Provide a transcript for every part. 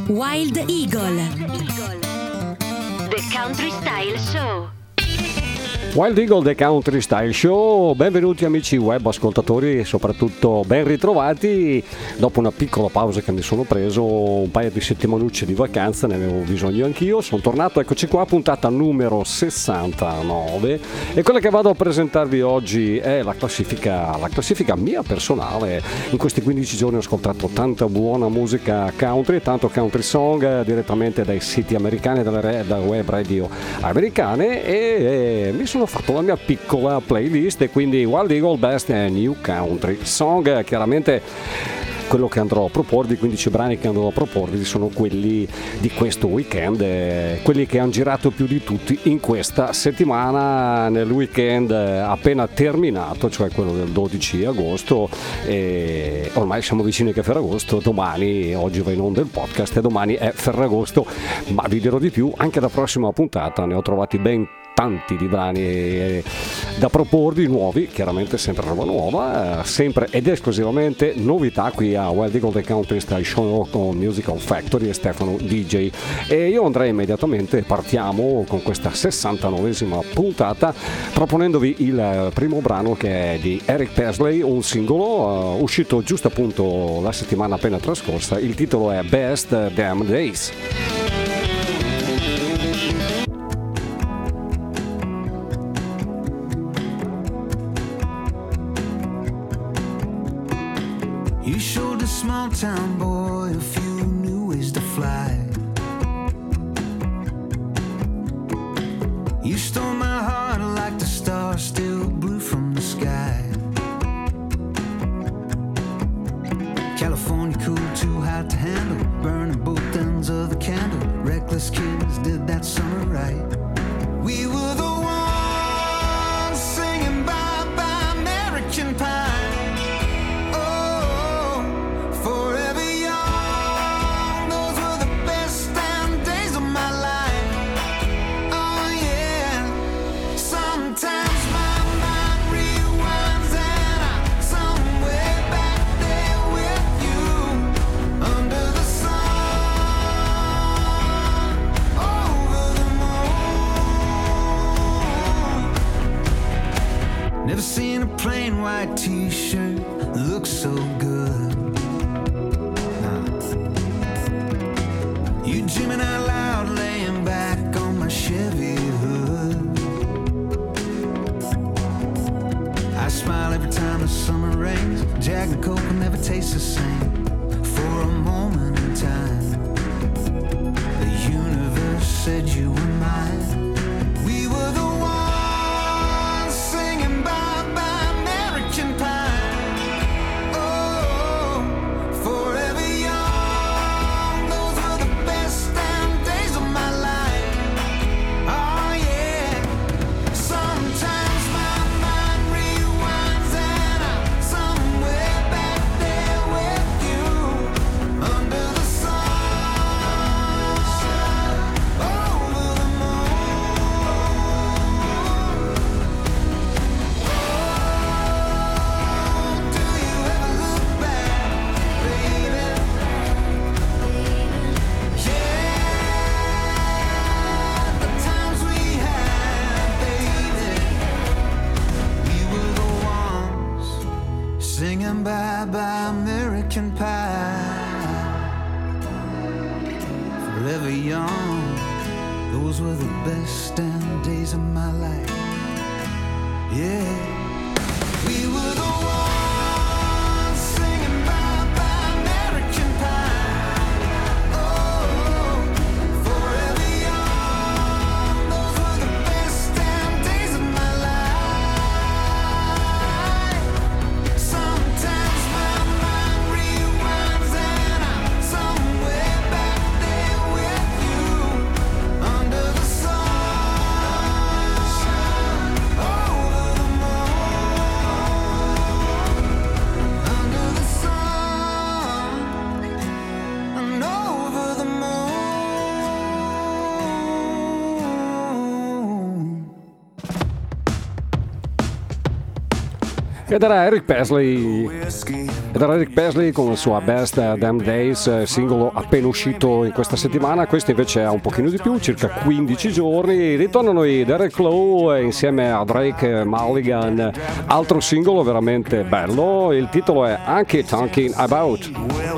Wild Eagle, The Country Style Show. Wild Eagle, The Country Style Show. Benvenuti amici web ascoltatori e soprattutto ben ritrovati dopo una piccola pausa che mi sono preso, un paio di settimanucce di vacanza, ne avevo bisogno anch'io. Sono tornato, eccoci qua, puntata numero 69, e quella che vado a presentarvi oggi è la classifica mia personale. In questi 15 giorni ho ascoltato tanta buona musica country, tanto country song direttamente dai siti americani, da web radio americane, e mi sono fatto la mia piccola playlist, e quindi Wild Eagle Best and New Country Song. Chiaramente quello che andrò a proporvi, 15 brani che andrò a proporvi sono quelli di questo weekend, quelli che hanno girato più di tutti in questa settimana, nel weekend appena terminato, cioè quello del 12 agosto, e ormai siamo vicini anche a Ferragosto. Oggi va in onda il podcast e domani è Ferragosto, ma vi dirò di più anche la prossima puntata. Ne ho trovati ben tanti di brani da proporvi, nuovi, chiaramente sempre roba nuova, sempre ed esclusivamente novità qui a Wild Eagle The Country Style Show con Musical Factory e Stefano DJ. E io andrei immediatamente, partiamo con questa 69esima puntata proponendovi il primo brano, che è di Eric Pesley, un singolo uscito giusto appunto la settimana appena trascorsa. Il titolo è Best Damn Days. You showed a small town boy a few new ways to fly. You stole my heart like the stars still blue from the sky. California cool, too hot to handle, burning both ends of the candle. Reckless kids did that summer right. We were the ones singing bye bye American Pie. Never seen a plain white t-shirt look so good. You dreaming out loud, laying back on my Chevy hood. I smile every time the summer rains. Jack and Coke will never taste the same. For a moment in time, the universe said you were mine. We were the ones singing bye bye American Pie. Oh, forever young, those were the best damn days of my life. Oh yeah, sometimes my mind rewinds and I'm somewhere back there with you, under the sun, over the moon. Oh, do you ever look back, baby? Yeah, the times we had, baby. We were the ones singing bye bye American Pie. Forever young, those were the best damn days of my life. Yeah, we were the ones singing bye bye American Pie. Oh, forever young, those were the best damn days of my life. Sometimes my mind rewinds and I'm somewhere back there with you, under the sun, over the moon. Ed era Eric Presley con la sua Best Damn Days, singolo appena uscito in questa settimana. Questo invece ha un pochino di più, circa 15 giorni. Ritornano i Derek Lowe insieme a Drake Mulligan, altro singolo veramente bello. Il titolo è Honky Tonkin' About.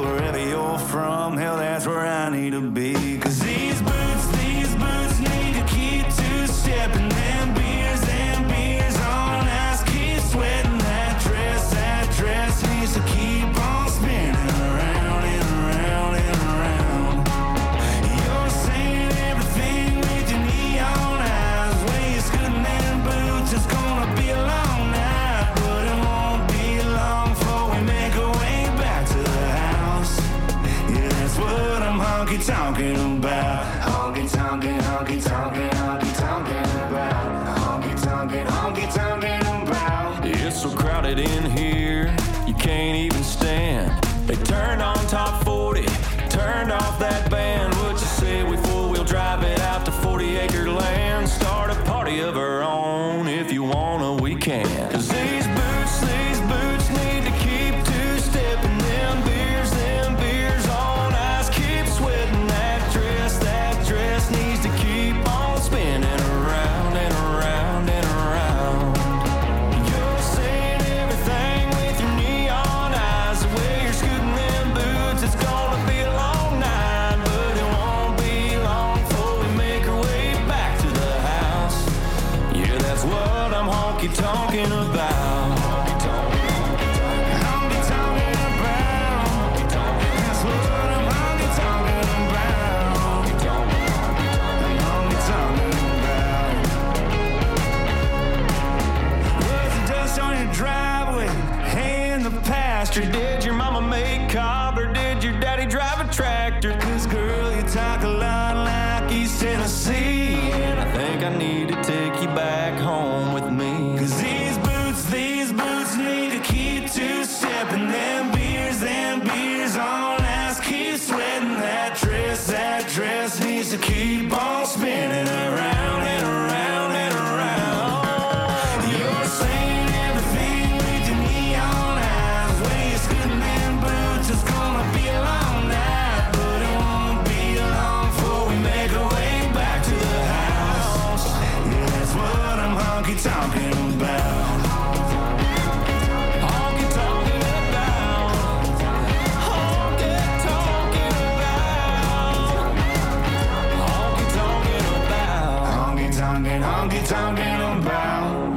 Talking about honky tonkin', honky tonkin', honky tonkin' about honky tonkin', honky tonkin' about. It's so crowded in here, you can't even stand. They turned on top 40, turned off that band. What you say we four-wheel drive it out to 40-acre land? Start a party of our own, if you wanna we can. 'Cause these boots need to keep two-stepping. Them beers on ice keep sweating. That dress needs to keep on spinning around and around and around. You're saying everything with your neon eyes. The way you're scooting them boots, it's gonna be a long night, but it won't be long before we make our way back to the house. Yeah, that's what I'm honky-tonkin' about. Did your mama make cob or did your daddy drive a tractor? 'Cause girl, you talk a lot like East Tennessee, and I think I need to take you back home with me. 'Cause these boots need to keep two-stepping. Them beers on ice keep sweating. That dress needs to keep on spinning around and around and around. You're saying everything with your neon eyes. Way you're scooting them boots, it's gonna be a long night, but it won't be long before we make our way back to the house. Yeah, that's what I'm honky-tonkin' about. Honky-tonkin' about.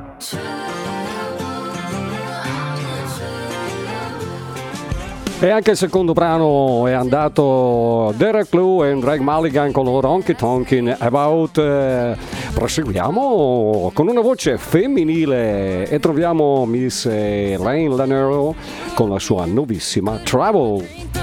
E anche il secondo brano è andato Derek Lowe e Drake Mulligan con loro Honky Tonkin' About. Proseguiamo con una voce femminile e troviamo Miss Lane Lanero con la sua nuovissima Trouble.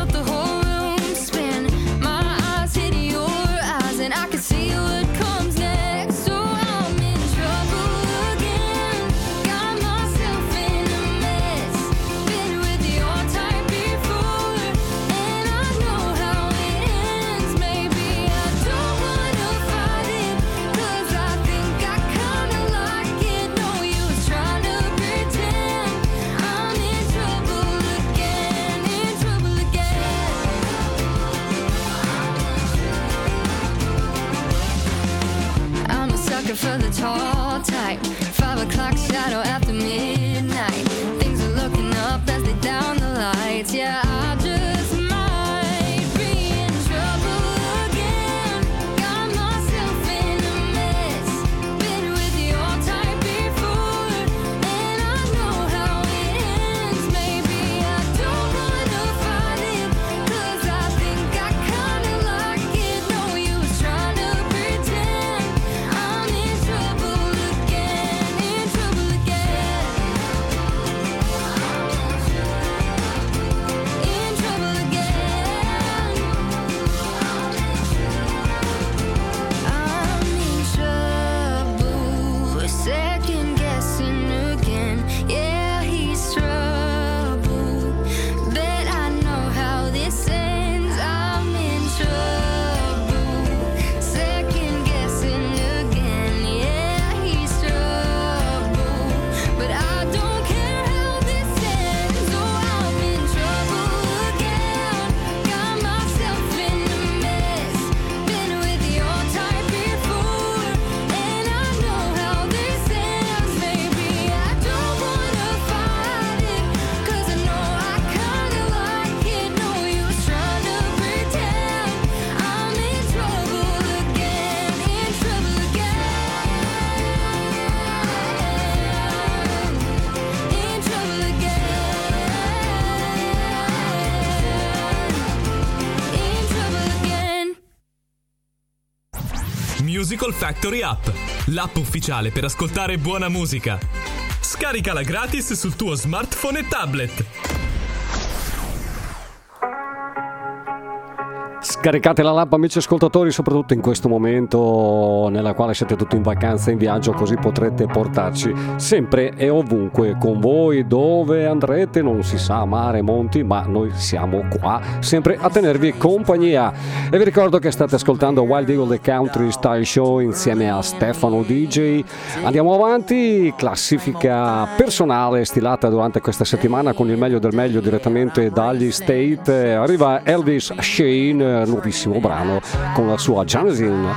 For the tall type, 5 o'clock shadow after midnight. Things are looking up as they down the lights. Yeah, I just might be in trouble again. Got myself in a mess. Been with your type before, and I know how it ends. Maybe I don't wanna fight it, 'cause I think I kinda like it. No use trying to pretend I'm in trouble again. Musical Factory App, l'app ufficiale per ascoltare buona musica. Scaricala gratis sul tuo smartphone e tablet. Scaricate la l'app, amici ascoltatori, soprattutto in questo momento nella quale siete tutti in vacanza, in viaggio, così potrete portarci sempre e ovunque con voi. Dove andrete non si sa, mare, monti, ma noi siamo qua sempre a tenervi compagnia. E vi ricordo che state ascoltando Wild Eagle The Country Style Show insieme a Stefano DJ. Andiamo avanti, classifica personale stilata durante questa settimana con il meglio del meglio direttamente dagli State. Arriva Elvis Shane, nuovissimo brano con la sua Janesin.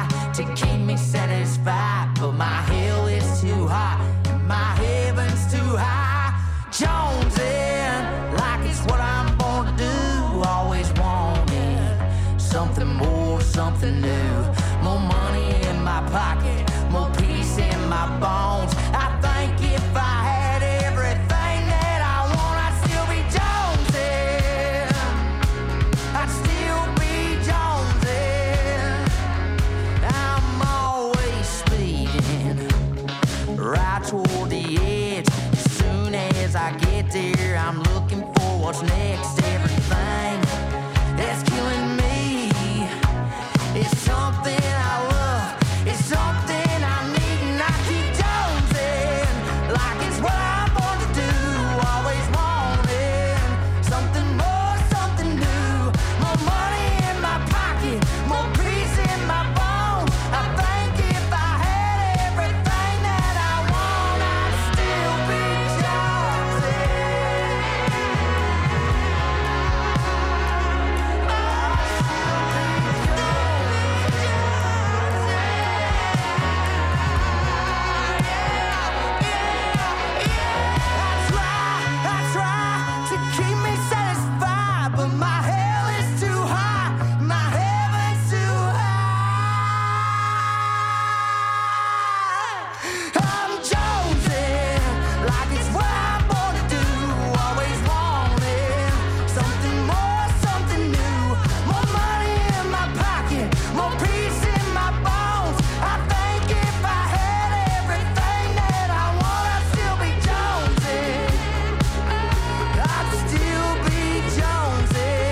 Something new, more money in my pocket, more peace in my bones. I think if I had everything that I want, I'd still be jonesing. I'd still be jonesing. I'm always speeding right toward the edge. As soon as I get there, I'm looking for what's next. Everything that's killing me. It's something I love, it's something I need, and I keep jonesing like it's what I'm born to do. Always wanting something more, something new, more money in my pocket, more peace in my bones. I think if I had everything that I want, I'd still be jonesing. I try to keep me satisfied, but my hell is too high, my heaven's too high. I'm jonesing like it's what I'm born to do. Always wanting something more, something new, more money in my pocket, more peace in my bones. I think if I had everything that I want, I'd still be jonesing. I'd still be jonesing.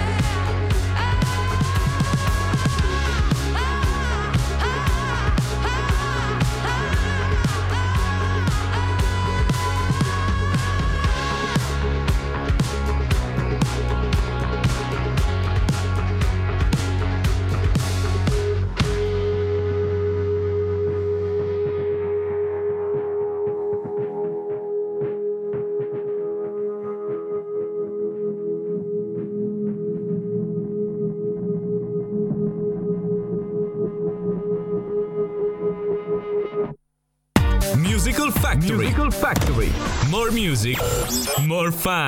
Musical Factory. Musical Factory. More music, more fun.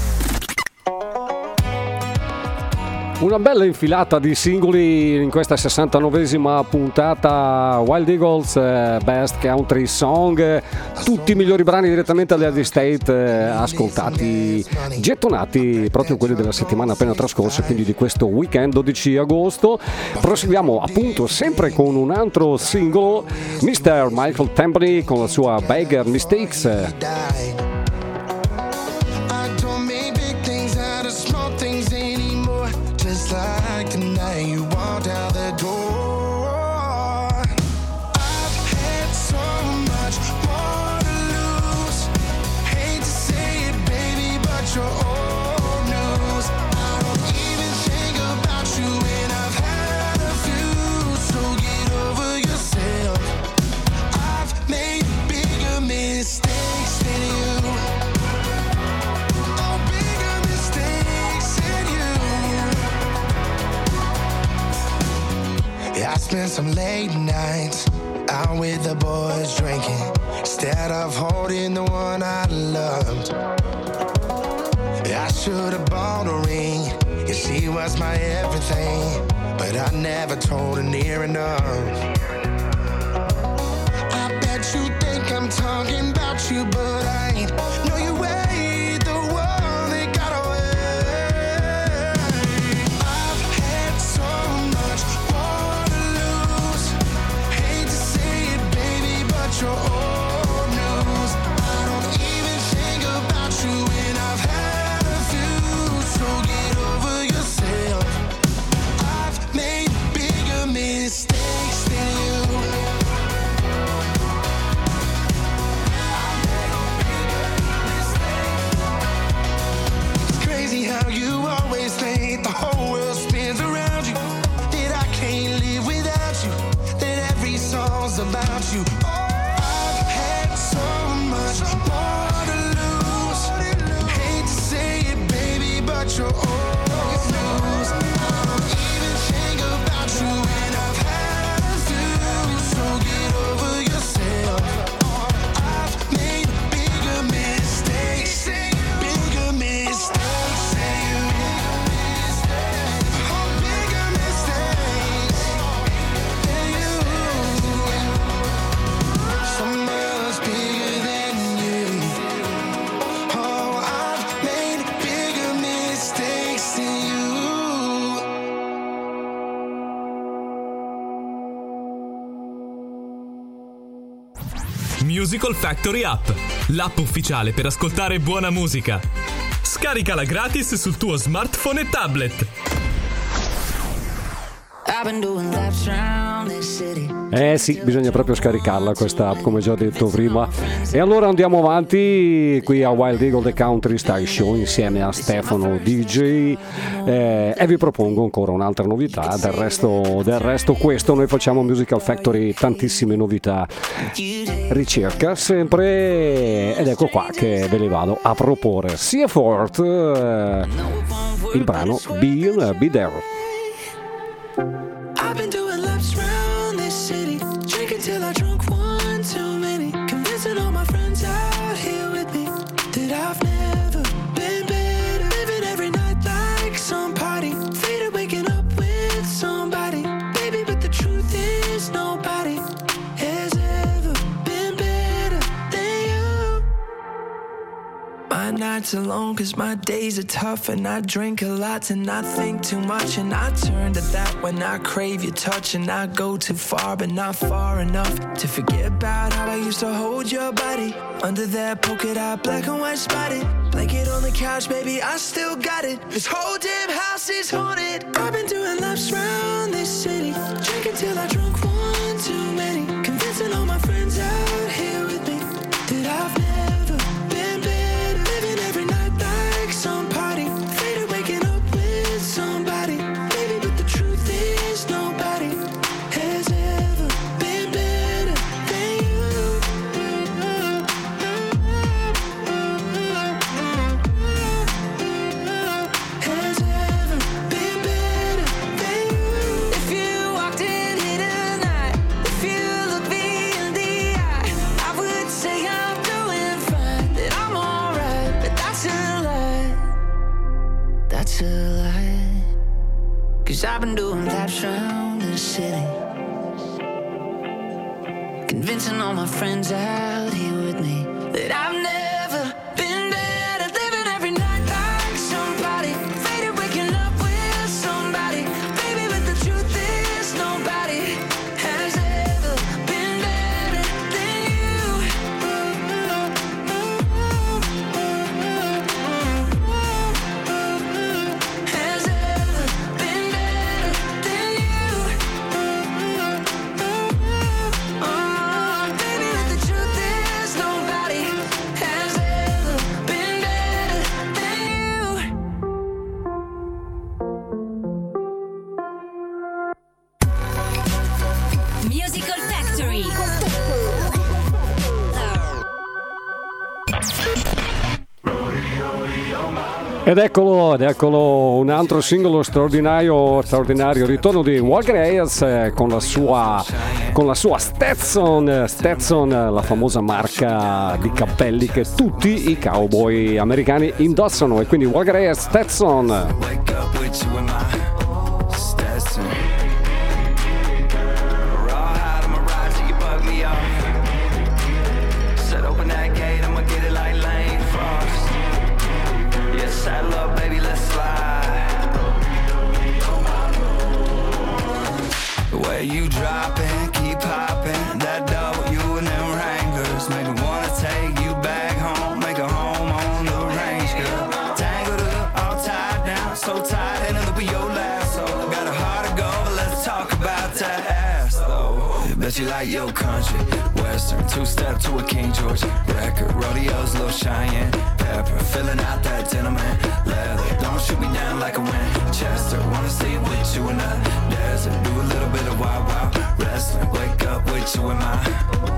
Una bella infilata di singoli in questa 69esima puntata Wild Eagles Best Country Song, tutti i migliori brani direttamente dagli State, ascoltati, gettonati proprio quelli della settimana appena trascorsa, quindi di questo weekend 12 agosto. Proseguiamo appunto sempre con un altro singolo, Mr. Michael Templey con la sua Beggar Mistakes. Like the night you walked out the door, I've had so much more to lose. Hate to say it, baby, but you're old news. I don't even think about you when I've had a few. So get over yourself. I've made bigger mistakes than you. Oh, bigger mistakes than you. I spent some late nights out with the boys drinking instead of holding the one I loved. I should have bought a ring, yeah, she was my everything, but I never told her near enough. I bet you think I'm talking about you, but I ain't. No, you ain't the one that got away. I've had so much more to lose. you. I've had so much more to lose. Hate to say it, baby, but you're old news. I don't even think about you when I've had to. So get over yourself. I've made bigger mistakes than you. Bigger mistakes than you. Oh, bigger mistakes than you. So much bigger than you. Oh, I've made bigger mistakes than you. Musical Factory App, l'app ufficiale per ascoltare buona musica. Scaricala gratis sul tuo smartphone e tablet. I've been doing laps around this city. Sì, bisogna proprio scaricarla questa app, come già detto prima. E allora andiamo avanti qui a Wild Eagle The Country Style Show insieme a Stefano DJ, e vi propongo ancora un'altra novità. Del resto questo, noi facciamo Musical Factory, tantissime novità, ricerca sempre, ed ecco qua che ve le vado a proporre. Sia Fort, il brano Be There. I've been doing laps around this city, drinking till I drunk one too many, convincing all my friends out here with me that I've never been better, living every night like some party, faded waking up with somebody, baby, but the truth is nobody has ever been better than you. My nights are long cause my days are tough, and I drink a lot and I think too much, and I turn to that when I crave your touch, and I go too far but not far enough to forget about how I used to hold your body under that polka dot black and white spotted blanket on the couch, baby, I still got it. This whole damn house is haunted. I've been doing laps around this city, drinking till I drunk one too many, convincing all my friends out here with me that I've never been better, living every night like some party, faded waking up with somebody, baby, but the truth is nobody has ever been better than you. Has ever been better than you. If you walked in here tonight, if you look me in the eye, I would say I'm doing fine, that I'm alright, but that's a lie. That's a lie. Cause I've been doing laps around the city, convincing all my friends out here with me that I've never been better, living every night like somebody, faded waking up with somebody, baby, but the truth is nobody has ever been better than you. Has ever been better than you. Baby, but the truth is nobody has ever been better than you. Musical Factory. Ed eccolo, un altro singolo straordinario ritorno di Walker Hayes, con la sua Stetson, la famosa marca di cappelli che tutti i cowboy americani indossano, e quindi Walker Hayes, Stetson. Wake up with you in my Stetson. Raw hide, I'ma ride till you bug me off. Said open that gate, I'ma get it like Lane Frost. Yeah, saddle up, baby, let's slide. The way you dropping, keep popping. That W and them Wranglers make me wanna take you back home, make a home on the range, girl. Tangled up, all tied down, so tight in the loop of your lasso. Got a heart of gold, but let's talk about that ass, though. Bet you like your country, western, two-step to a King George record. Rodeo's Lil Cheyenne Pepper, filling out that gentleman leather. Don't shoot me down like a Winchester. Wanna see with you in the desert, do a little bit of wild, wild wrestling. Wake up with you in my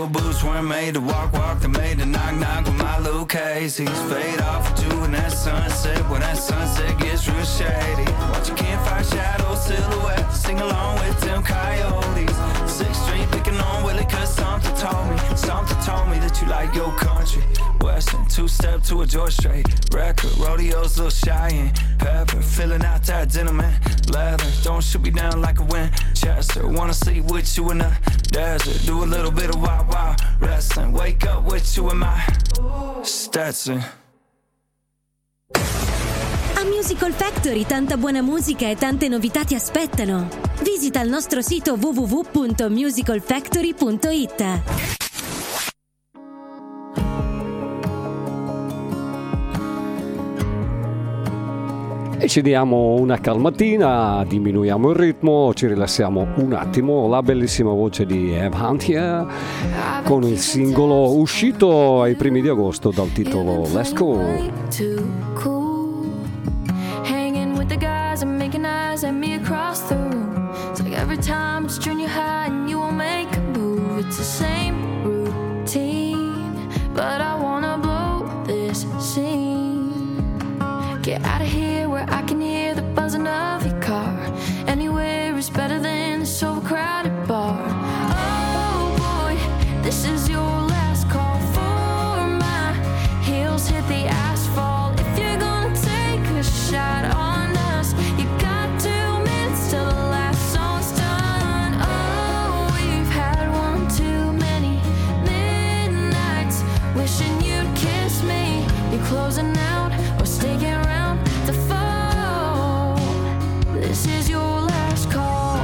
Steel boots weren't made to walk, they're made to knock with my little Casey's. Fade off with you in that sunset, when that sunset gets real shady. Watch your campfire shadow silhouette, sing along with them coyotes. 6th Street picking on Willie, cause something told me that you like your country. Western, 2-step to a George Strait. Record, rodeos, little Cheyenne. Pepper, filling out that dinner, man. Leather, don't shoot me down like a Winchester. Wanna sleep with you in the desert. Do a little bit of wild, wild wrestling. Wake up with you in my Stetson. A Musical Factory tanta buona musica e tante novità ti aspettano. Visita il nostro sito www.musicalfactory.it. E ci diamo una calmatina, diminuiamo il ritmo, ci rilassiamo un attimo. La bellissima voce di Eve Hunt here, con il singolo uscito ai primi di agosto dal titolo Let's Go. Hanging with the guys and making eyes at me across the room. It's like every time it's junior high and you won't make a move. It's the same routine, but I wanna blow this scene. Get out of here where I can hear the buzzing of your car. Anywhere is better than this overcrowded bar. Oh boy, this is your last call for my heels hit the asphalt. If you're gonna take a shot on us, you got 2 minutes till the last song's done. Oh, we've had one too many midnights wishing you'd kiss me. You're closing out or sticking around the phone. This is your last call.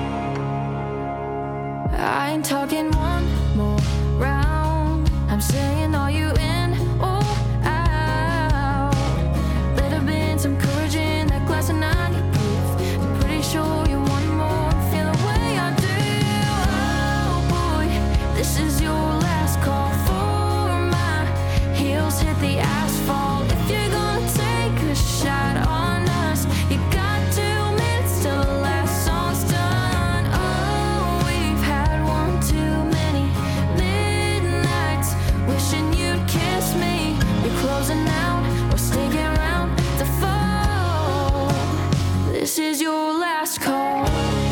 I ain't talking one more round. I'm saying, are you in or out? Better been some courage in that glass of 90 proof. I'm pretty sure you want more, feel the way I do. Oh boy, this is your last call for my heels hit the asphalt. If you're gonna take a shot on us, you got 2 minutes till the last song's done. Oh, we've had one too many midnights wishing you'd kiss me. You're closing out or sticking around the phone. This is your last call.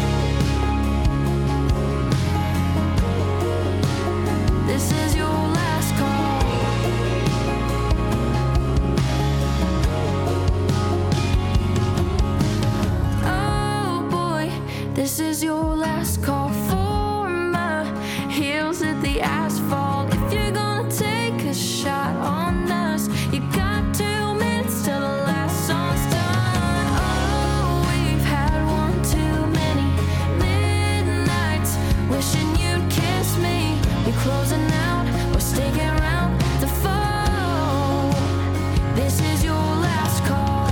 This is your last call. Oh boy, this is your last call for my heels at the asphalt. If you're gonna take a shot on us, you got 2 minutes till the last song's done. Oh, we've had one too many midnights wishing you'd kiss me. You're closing out or sticking around the phone. This is your last call.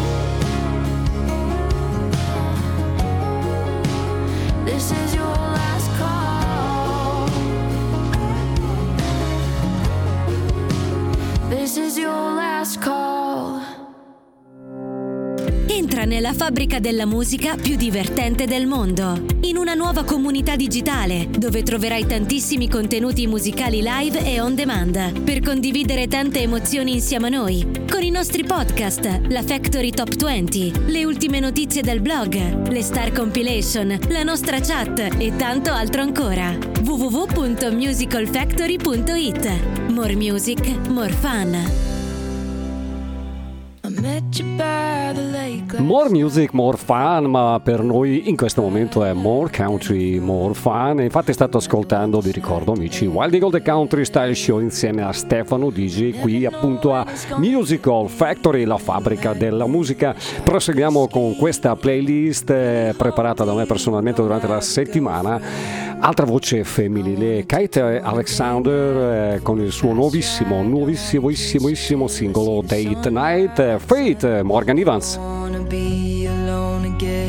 This is your last call. This is your last call. Entra nella fabbrica della musica più divertente del mondo, in una nuova comunità digitale dove troverai tantissimi contenuti musicali live e on demand per condividere tante emozioni insieme a noi, con i nostri podcast, la Factory Top 20, le ultime notizie del blog, le Star Compilation, la nostra chat e tanto altro ancora. www.musicalfactory.it. More music, more fun. More music, more fun, ma per noi in questo momento è more country, more fun. Infatti state ascoltando, vi ricordo amici, Wild Eagle The Country Style Show insieme a Stefano DJ qui appunto a Musical Factory, la fabbrica della musica. Proseguiamo con questa playlist preparata da me personalmente durante la settimana. Altra voce femminile, Kate Alexander con il suo nuovissimissimo singolo Date Night. Fate, Morgan Evans. Be alone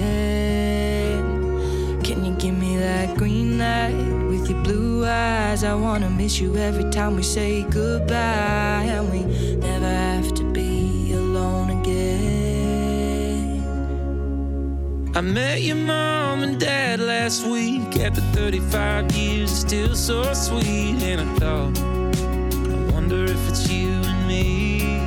again. Can you give me that green light with your blue eyes? I wanna miss you every time we say goodbye, and we never have to be alone again. I met your mom and dad last week. After 35 years, it's still so sweet. And I thought, I wonder if it's you and me.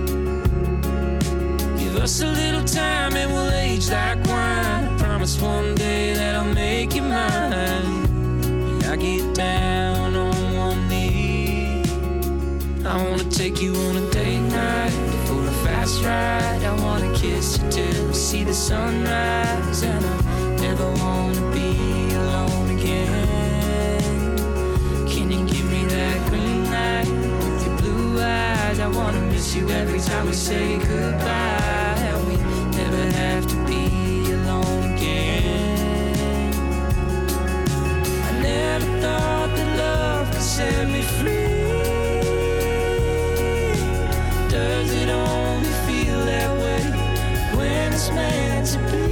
Give us a little time and we'll age like wine. I promise one day that I'll make you mine. And I get down on one knee. I wanna take you on a date night for a fast ride. I wanna kiss you till we see the sunrise. And I never wanna be alone again. Can you give me that green light with your blue eyes? I wanna miss you every time we say goodbye. And we never have to be alone again. I never thought that love could set me free. Does it only feel that way when it's meant to be?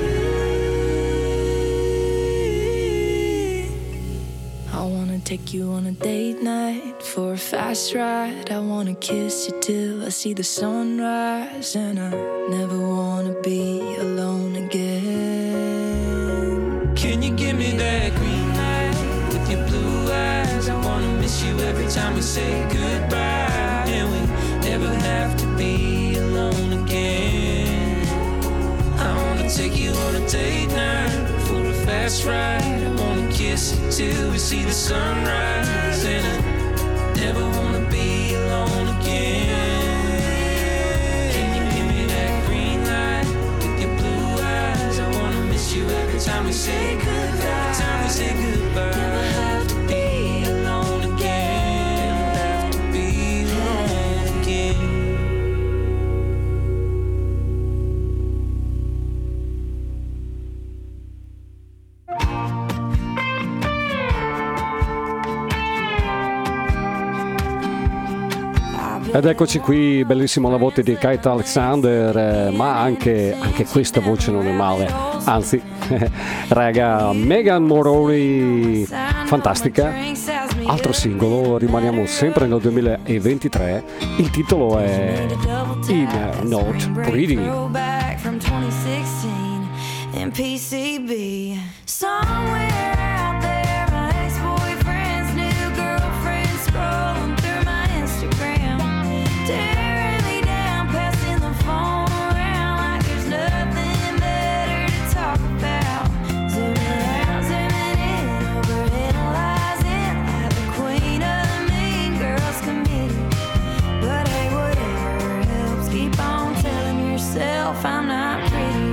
I wanna take you on a date night for a fast ride. I wanna kiss you till I see the sunrise. And I never wanna be alone again. Can you give me that green light with your blue eyes? I wanna miss you every time we say goodbye. And we never have to be alone again. I wanna take you on a date night for a fast ride. I wanna kiss you till we see the sunrise. And I never wanna be alone again. Can you give me that green light with your blue eyes? I wanna miss you every time we say goodbye. Every time we say goodbye. Never have to be alone again. Never have to be alone again. Ed eccoci qui, bellissimo la voce di Kate Alexander, ma anche questa voce non è male, anzi, raga, Megan Moroney, fantastica, altro singolo, rimaniamo sempre nel 2023, il titolo è In Not Pretty. I'm not pretty.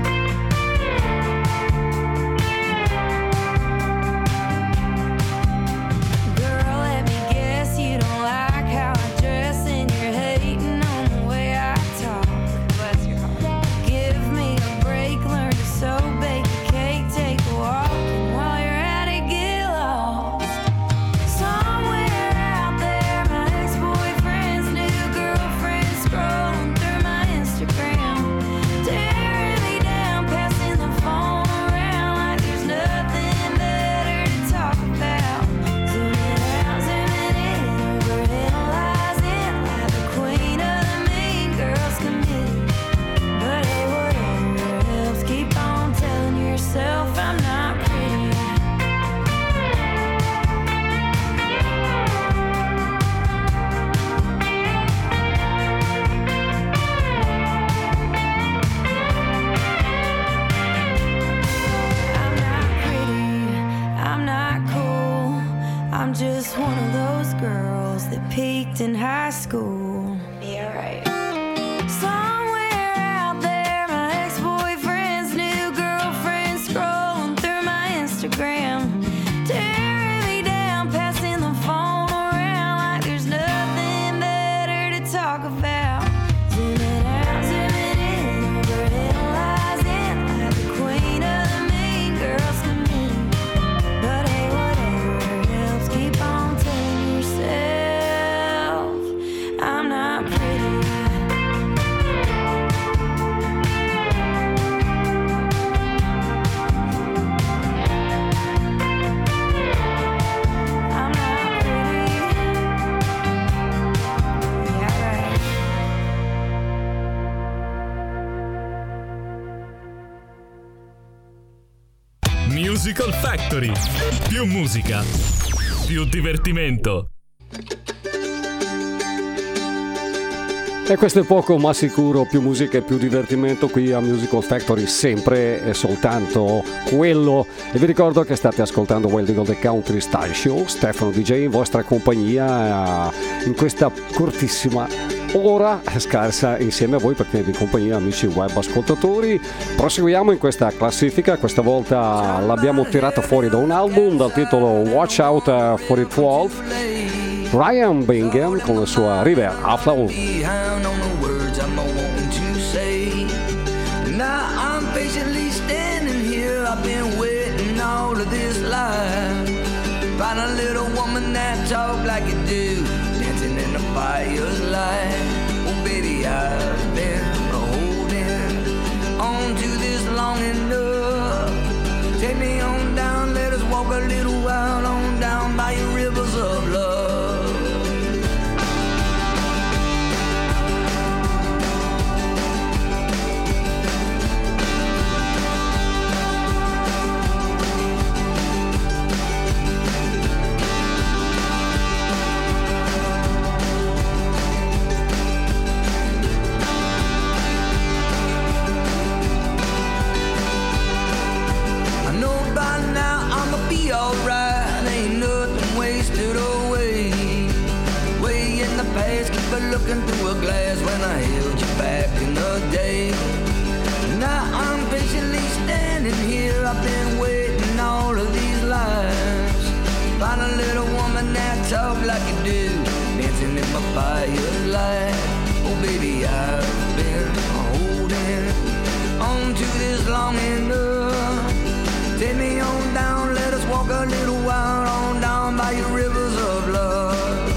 Girl, let me guess you don't like how I dress and you're hating on the way I talk. Bless your heart. Give me a break, learn to sew, bake a cake, take a walk, and while you're at it, get lost. Somewhere out there, my ex-boyfriend's new girlfriend scrolling through my Instagram. Tearing me down, passing the phone around like there's nothing better to talk about. Zooming out, zooming in, overanalyzing like the queen of the mean girls committee. But hey, whatever helps, keep on telling yourself I'm not pretty. I'm not pretty, I'm not cool. I'm just one of those girls that peaked in high school. Yeah, right. Somewhere out there, my ex-boyfriend's new girlfriend scrolling through my Instagram. Tearing me down, passing the phone around like there's nothing better to talk about. Zooming out, zooming in, overanalyzing like the queen of the mean girls committee. But hey, whatever helps, keep on telling yourself Musical Factory. Più musica, più divertimento. E questo è poco ma sicuro, più musica e più divertimento qui a Musical Factory, sempre e soltanto quello. E vi ricordo che state ascoltando Wild Eagle The Country Style Show, Stefano DJ in vostra compagnia in questa cortissima ora scarsa insieme a voi per tenervi in compagnia, amici web ascoltatori. Proseguiamo in questa classifica, questa volta l'abbiamo tirata fuori da un album dal titolo Watch Out for It 12. Ryan Bingham con la sua River After. Behind on the words I'm wanting to say. Now I'm patiently standing here. I've been waiting all of this life. Find a little woman that talk like you do, dancing in the fire's light. Oh baby, I've been holding on to this long enough. Take me on down, let us walk a little while on down by your rivers of love. Alright, ain't nothing wasted away. Way in the past, keep it looking through a glass when I held you back in the day. Now I'm patiently standing here. I've been waiting all of these lives. Find a little woman that talk like you do, dancing in my firelight. Oh baby, I've been holding on to this long enough. Take me on down, let us walk a little while on down by your rivers of love.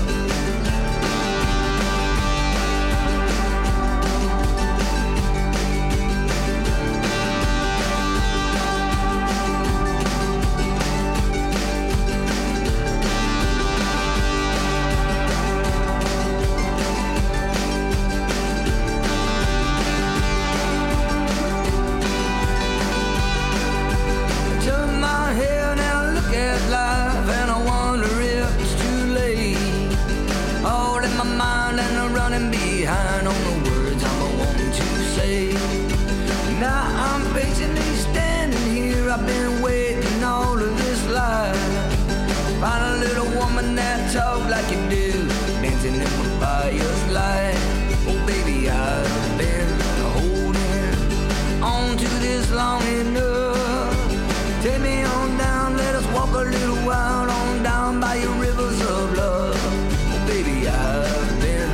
Behind on the words I'm wanting to say. Now I'm patiently standing here. I've been waiting all of this life. Find a little woman that talk like you do, dancing in my fire's light. Oh baby, I've been holding on to this long enough. Take me on down, let us walk a little while on down by your rivers of love. Oh baby, I've been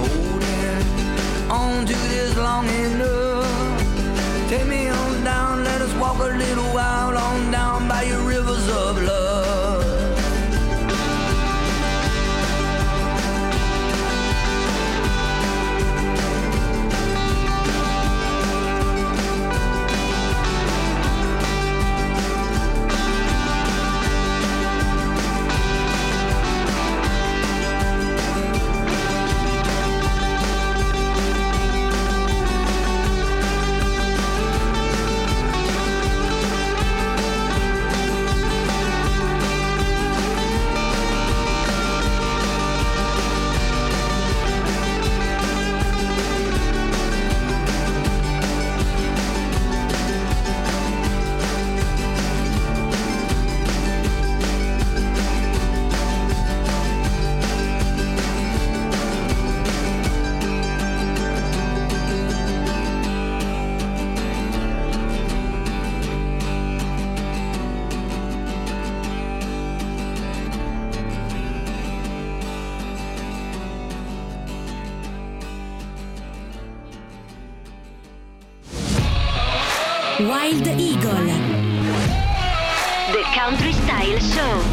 on to this long enough. Take me on down, let us walk a little while on down by your rivers of love. Wild Eagle The Country Style Show.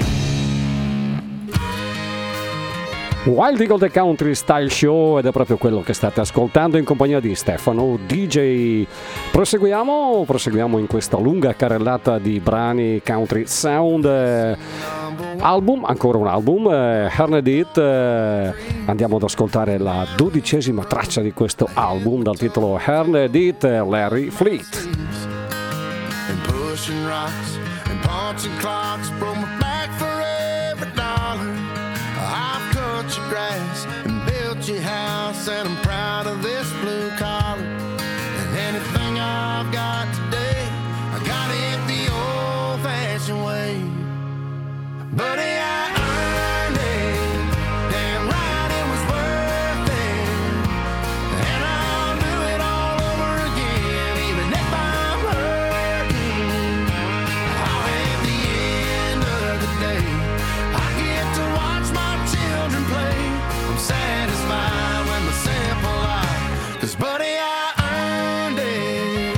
Wild Eagle The Country Style Show, ed è proprio quello che state ascoltando in compagnia di Stefano DJ. Proseguiamo in questa lunga carrellata di brani country sound. Ancora un album, Hearned It. Andiamo ad ascoltare la 12ª traccia di questo album dal titolo Hearned It, Larry Fleet. and pushing rocks and punching clocks. Broke my back for every dollar. I've cut your grass and built your house, and I'm proud of this blue collar. And anything I've got today, I got it the old-fashioned way. Buddy, I earned it. Damn right it was worth it. And I'll do it all over again, even if I'm hurting. I'll have the end of the day. I get to watch my children play. I'm satisfied with my simple life. 'Cause buddy, I earned it.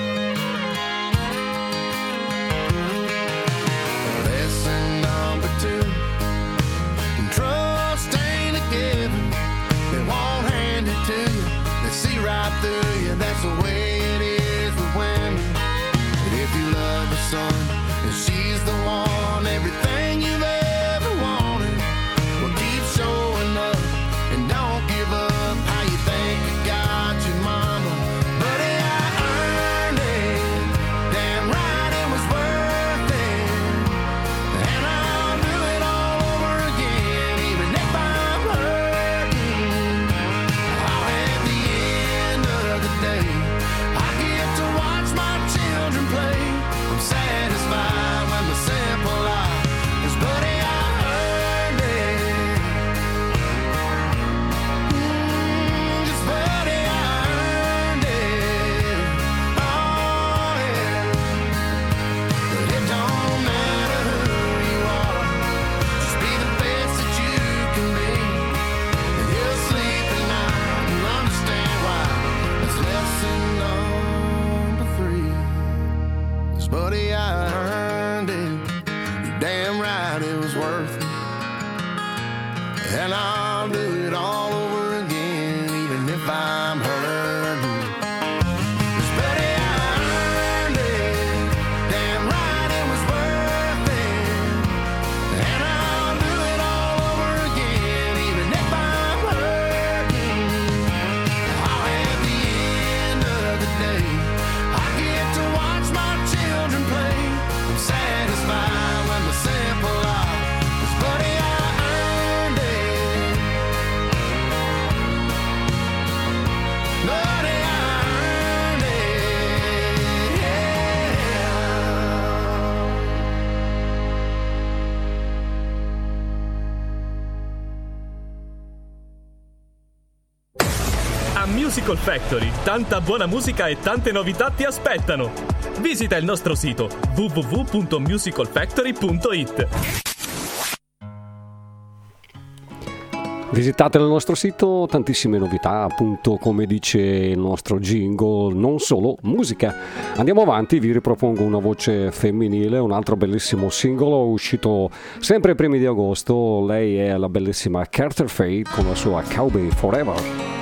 Lesson number 2. Trust ain't a given. They won't hand it to you. They see right through you. That's the way it is with women. But if you love her son and she's the one, everything you've ever wanted, well, keep showing up and don't give up. How you think you got your mama? Buddy, I earned it. Damn right it was worth it. And I'll do it all over again, even if I'm hurting. I'll have the end of the day. I get to watch my children play. I'm satisfied with my simple life. 'Cause buddy, I earned it. Just buddy, I earned it. Oh yeah. But it don't matter who you are. Just be the best that you can be, and you'll sleep at night and understand why. It's lesson number 3. 'Cause buddy, I earned it. You're damn right it was worth it. And I'll do it all over again, even if I'm hurting. 'Cause buddy, I earned it. Damn right it was worth it. And I'll do it all over again, even if I'm hurting. I'll have the end of the day. I get to watch my children play. I'm satisfied with my simple life. 'Cause buddy, I earned it. Buddy, I earned it. Yeah. A Musical Factory, tanta buona musica e tante novità ti aspettano. Visita il nostro sito www.musicalfactory.it. Visitate il nostro sito, tantissime novità, appunto come dice il nostro jingle, non solo musica. Andiamo avanti, vi ripropongo una voce femminile, un altro bellissimo singolo uscito sempre ai primi di agosto. Lei è la bellissima Carter Fate con la sua Cowboy Forever.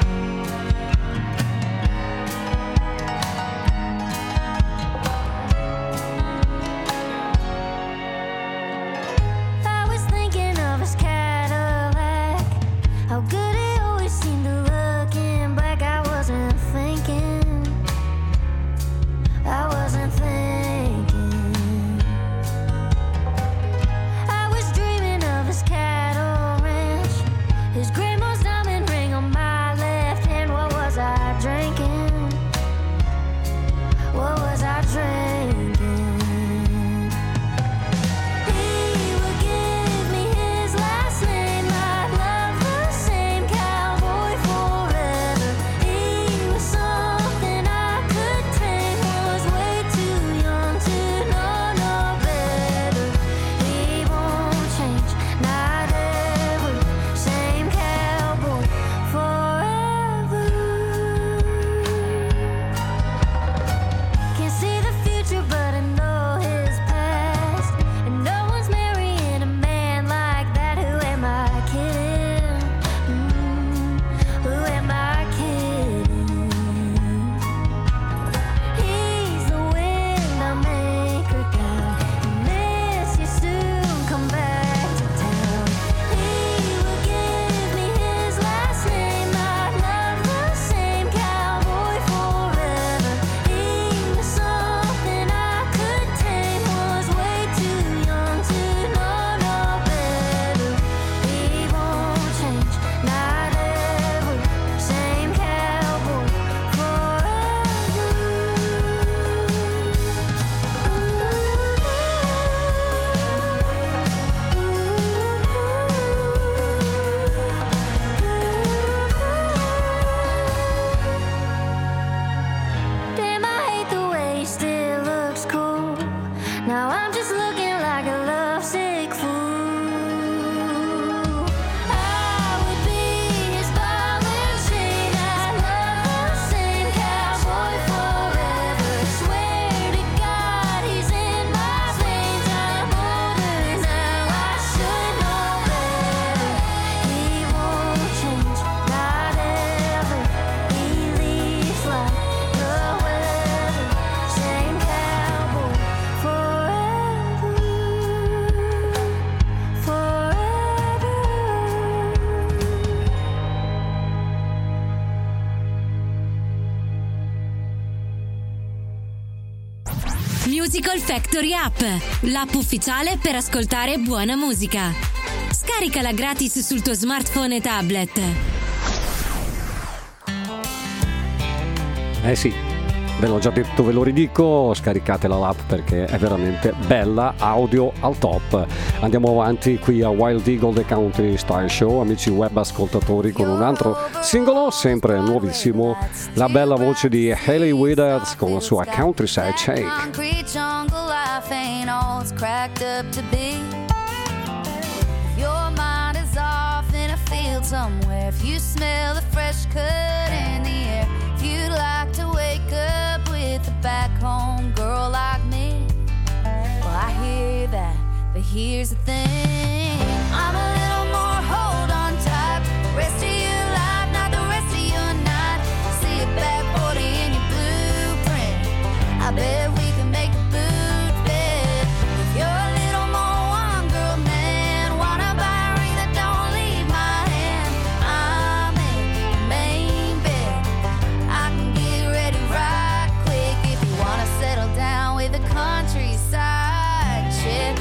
I was thinking of his Cadillac, how good it always seemed to look in black. I wasn't thinking, I was dreaming of his cattle ranch, his grandma's diamond ring on my leg. Musical Factory App, l'app ufficiale per ascoltare buona musica. Scaricala gratis sul tuo smartphone e tablet. Sì, ve l'ho già detto, ve lo ridico, scaricatela l'app perché è veramente bella, audio al top. Andiamo avanti qui a Wild Eagle The Country Style Show, amici web ascoltatori, con un altro singolo, sempre nuovissimo, la bella voce di Hayley Withers con la sua Countryside Shake. Concrete jungle life ain't all it's cracked up to be. Your mind is off in a field somewhere. If you smell the fresh cut in the air, if you'd like to wake up with a back home girl like me, well, I hear that, but here's the thing, I'm a little more hold on type. Rest of your life, not the rest of your night. See a back 40 in your blueprint, I bet we can make a boot fit. If you're a little more one girl man, wanna buy a ring that don't leave my hand, I'm in the main bed, I can get ready right quick. If you wanna settle down with a countryside chick,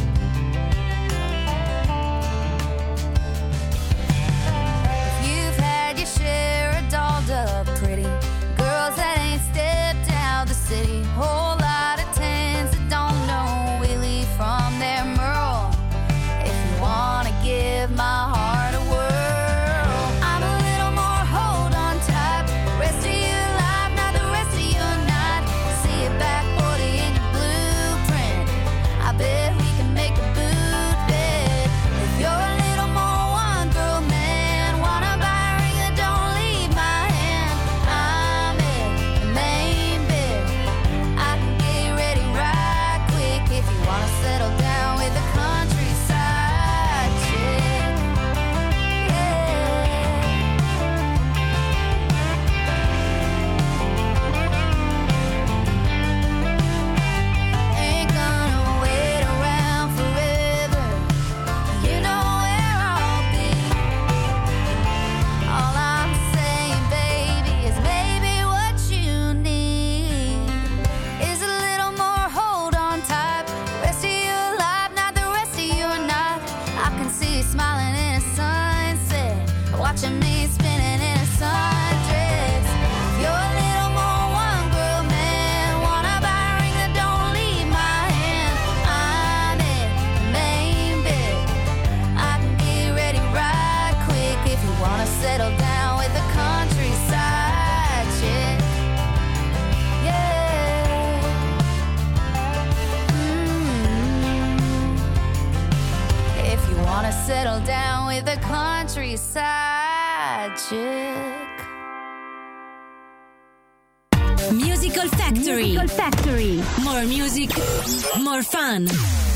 if you've had your share of dolled up pretty girls that ain't stepped out the city, whole lot of tens that don't know Willie from their Merle. If you wanna give my heart a whirl, I'm a little more hold on type. Rest of your life, not the rest of your night. See it back 40 in your blueprint, I bet we can make a boot bed. If you're a little more one girl man, wanna buy a ring that don't leave my hand, I'm in the main bed, I can get ready right quick. If you wanna settle down with a countryside chick, ain't gonna wait around forever, you know where I'll be. All I'm saying, baby, is maybe what you need is a little more hold on type. Rest of your life, not the rest of your night. I can see you smiling in a sunset, watching me spinning in a sundress. You're a little more one girl man, wanna buy a ring that don't leave my hand, I'm in the main bed, I can get ready right quick. If you wanna settle down with a countryside chick, yeah. If you wanna settle down with a countryside chick. Musical Factory. More music, more fun.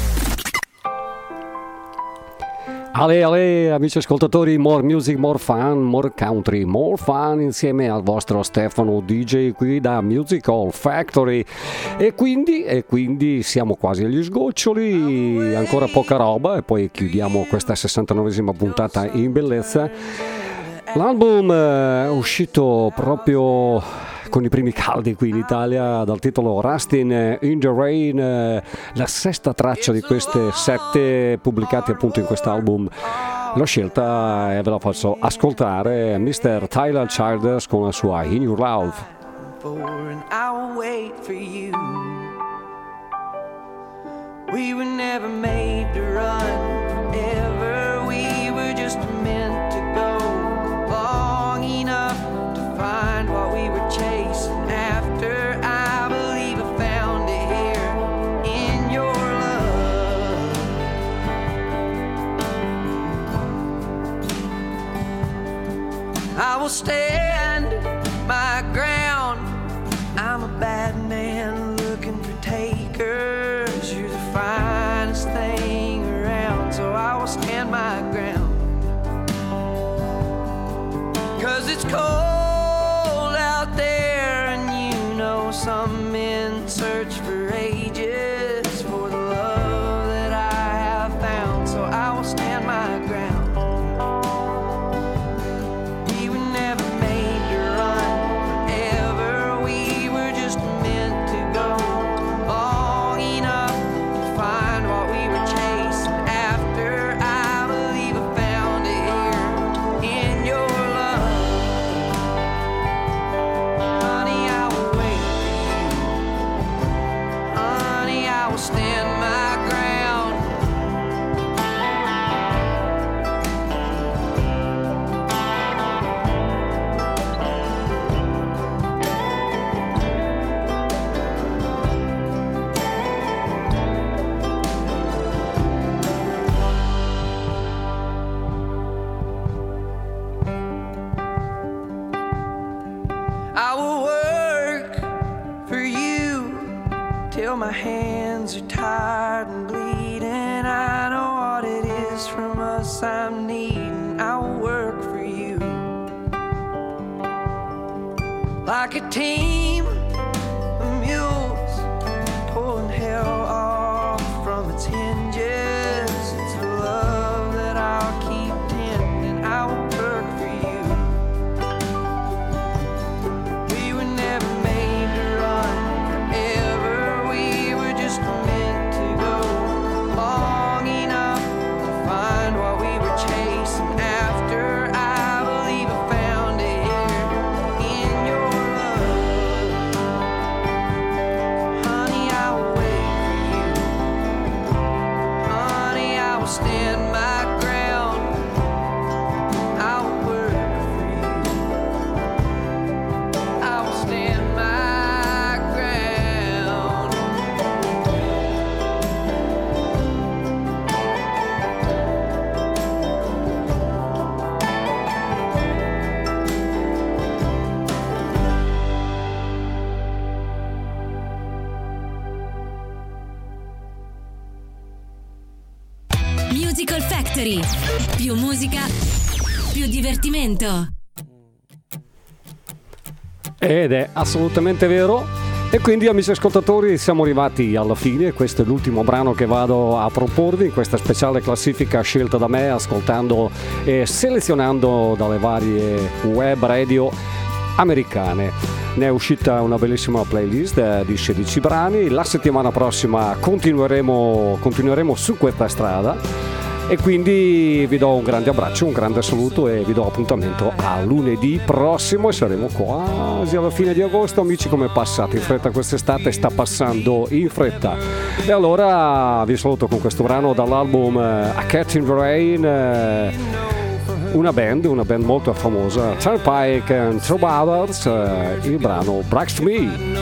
Ale, amici ascoltatori, more music, more fun, more country, more fun insieme al vostro Stefano DJ qui da Musical Factory. E quindi siamo quasi agli sgoccioli, ancora poca roba e poi chiudiamo questa 69esima puntata in bellezza. L'album è uscito proprio con i primi caldi qui in Italia dal titolo Rustin' in the Rain, la sesta traccia di queste 7 pubblicate appunto in quest'album. L'ho scelta e ve la faccio ascoltare, Mr. Tyler Childers con la sua In Your Love. And I'll wait for you. We were never made to run forever. We were just meant to go long enough to find what we were chasing after. I believe I found it here in your love. I will stand my ground. I'm a bad man looking for takers. You're the finest thing around, so I will stand my ground. 'Cause it's cold out there, and you know some men search for ages for the love that I have found, so I will stand my ground. We were never made to run forever. We were just meant to go long will stand my ground. I will work for you till my hands are tired and bleeding. I know what it is from us I'm needing. I will work for you like a team of mules pulling hell off from its hinges. It's a love that I'll keep tending. I will work for you. We were never made to run forever. We were just meant to go long enough to find what we were chasing after. I believe I found it here in your love. Honey, I will wait for you. Honey, I will stand my ground. I will work for you. I will stand my ground. Musical Factory. Più musica, più divertimento. Ed è assolutamente vero. E quindi, amici ascoltatori, siamo arrivati alla fine. Questo è l'ultimo brano che vado a proporvi in questa speciale classifica scelta da me, ascoltando e selezionando dalle varie web radio americane. Ne è uscita una bellissima playlist di 16 brani. La settimana prossima continueremo su questa strada. E quindi vi do un grande abbraccio, un grande saluto e vi do appuntamento a lunedì prossimo e saremo quasi alla fine di agosto. Amici, come passate in fretta quest'estate? Sta passando in fretta. E allora vi saluto con questo brano dall'album A Cat in the Rain, una band molto famosa, Turnpike and Troubadours, il brano Brags to Me.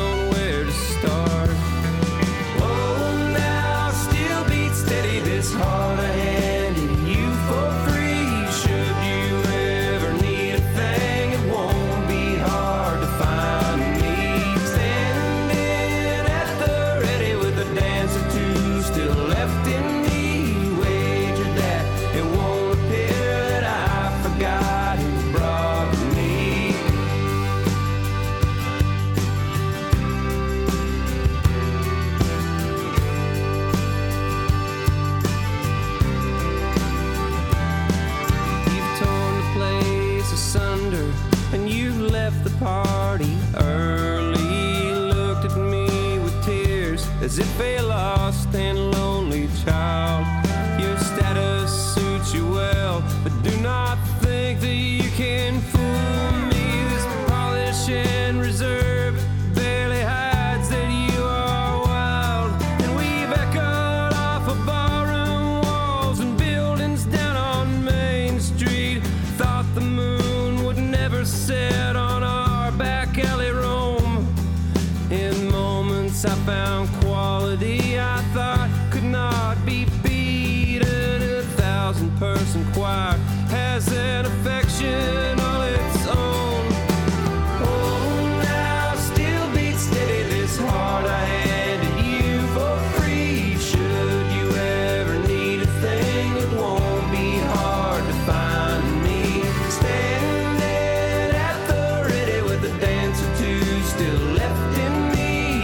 As if a lost and lonely child. Your status suits you well, but do not think that you can fool me. This polish and reserve barely hides that you are wild. And we've echoed off of barroom walls and buildings down on Main Street. Thought the moon would never set on our back alley roam. In moments I found quality I thought could not be beaten. A 1,000-person choir has an affection all its own. Oh, now still beat steady this heart I handed you for free. Should you ever need a thing, it won't be hard to find me. Standing at the ready with a dance or two still left in me.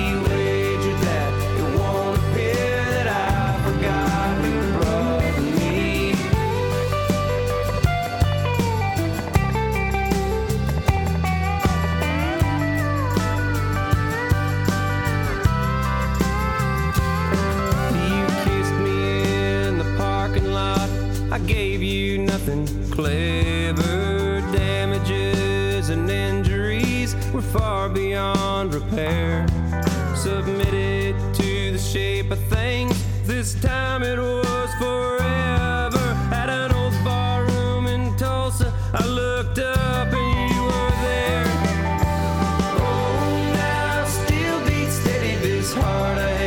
I gave you nothing clever. Damages and injuries were far beyond repair. Submitted to the shape of things. This time it was forever. At an old bar room in Tulsa, I looked up and you were there. Oh, now still beat steady this heart I